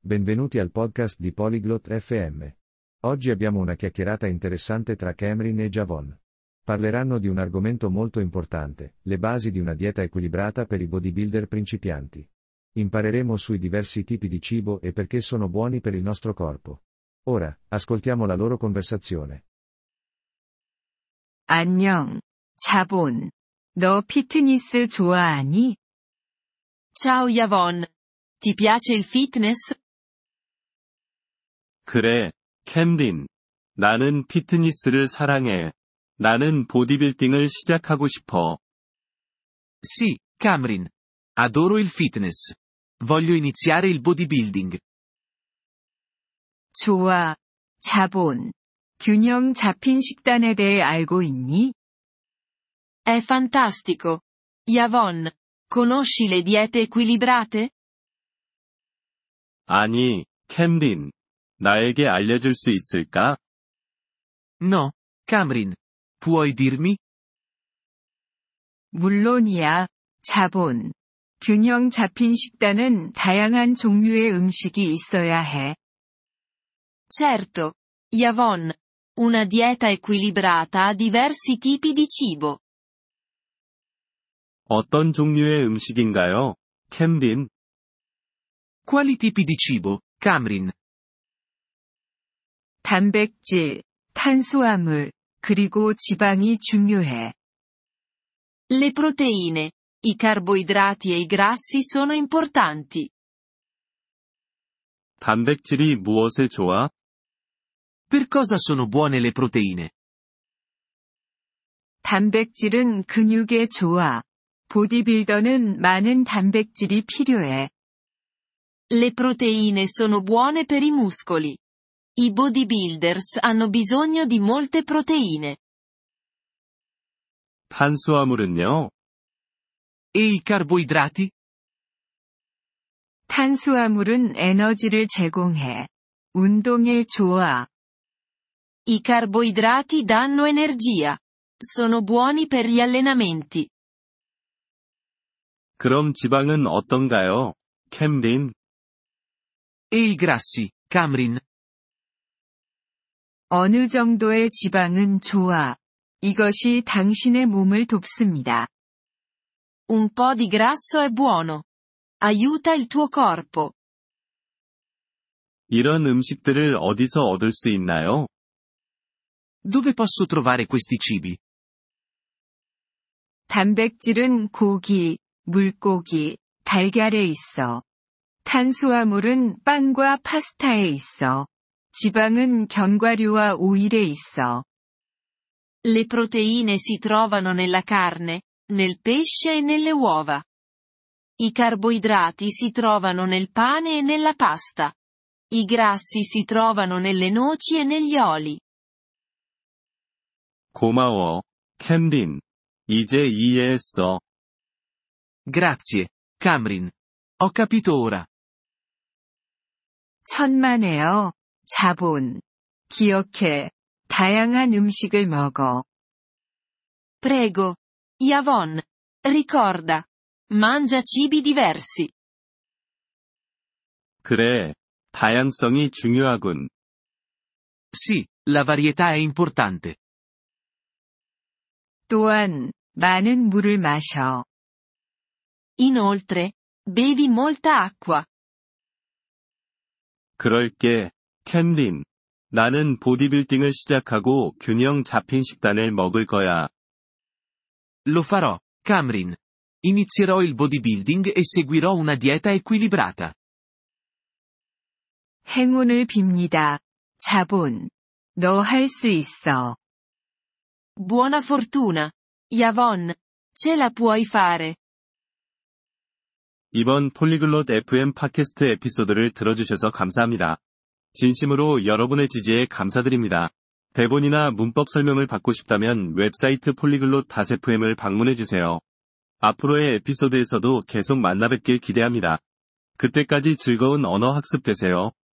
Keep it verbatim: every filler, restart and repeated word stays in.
Benvenuti al podcast di Polyglot F M. Oggi abbiamo una chiacchierata interessante tra Cameron e Javon. Parleranno di un argomento molto importante, le basi di una dieta equilibrata per i bodybuilder principianti. Impareremo sui diversi tipi di cibo e perché sono buoni per il nostro corpo. Ora, ascoltiamo la loro conversazione. 안녕, 자본. 너 피트니스 좋아하니? Ciao Yavon. Ti piace il fitness? 그래, 캠린. 나는 피트니스를 사랑해. 나는 보디빌딩을 시작하고 싶어. Sì, Cameron. Adoro il fitness. Voglio iniziare il bodybuilding. 좋아, 자본. 균형 잡힌 식단에 대해 알고 있니? È fantastico. Yavon, conosci le diete equilibrate? 아니, 캠린. 나에게 알려줄 수 있을까? No, Cameron. Puoi dirmi? 물론이야, 자본. 균형 잡힌 식단은 다양한 종류의 음식이 있어야 해. Certo. Yavon. Una dieta equilibrata ha diversi tipi di cibo. 어떤 종류의 음식인가요, 캠린? Quali tipi di cibo, Cameron? 단백질, 탄수화물, 그리고 지방이 중요해. Le proteine, i carboidrati e i grassi sono importanti. 단백질이 무엇에 좋아? Per cosa sono buone le proteine? 단백질은 근육에 좋아. 보디빌더는 많은 단백질이 필요해. Le proteine sono buone per i muscoli. I bodybuilders hanno bisogno di molte proteine. 탄수화물은요? E i carboidrati? 탄수화물은 에너지를 제공해. 운동에 좋아. I carboidrati danno energia. Sono buoni per gli allenamenti. 그럼 지방은 어떤가요, 캠린? E i grassi, Cameron? 어느 정도의 지방은 좋아. 이것이 당신의 몸을 돕습니다. Un po' di grasso è buono. Aiuta il tuo corpo. 이런 음식들을 어디서 얻을 수 있나요? Dove posso trovare questi cibi? 단백질은 고기, 물고기, 달걀에 있어. 탄수화물은 빵과 파스타에 있어. 지방은 견과류와 오일에 있어. Le proteine si trovano nella carne, nel pesce e nelle uova. I carboidrati si trovano nel pane e nella pasta. I grassi si trovano nelle noci e negli oli. 고마워, 캠린. 이제 이해했어. Grazie, Cameron. Ho capito ora. 천만에요, 자본. 기억해. 다양한 음식을 먹어. Prego. Yavon. Ricorda. Mangia cibi diversi. 그래, 다양성이 중요하군. Sì, la varietà è importante. 또한, 많은 물을 마셔. Inoltre, bevi molta acqua. 그럴게, 캠린. 나는 보디빌딩을 시작하고 균형 잡힌 식단을 먹을 거야. Lo farò, Cameron. Inizierò il bodybuilding e seguirò una dieta equilibrata. 행운을 빕니다. 자본. 너 할 수 있어. Buona fortuna. Yavon. Ce la puoi fare. 이번 폴리글롯 에프엠 팟캐스트 에피소드를 들어주셔서 감사합니다. 진심으로 여러분의 지지에 감사드립니다. 대본이나 문법 설명을 받고 싶다면 웹사이트 폴리글롯 에프엠을 방문해주세요. 앞으로의 에피소드에서도 계속 만나뵙길 기대합니다. 그때까지 즐거운 언어 학습 되세요.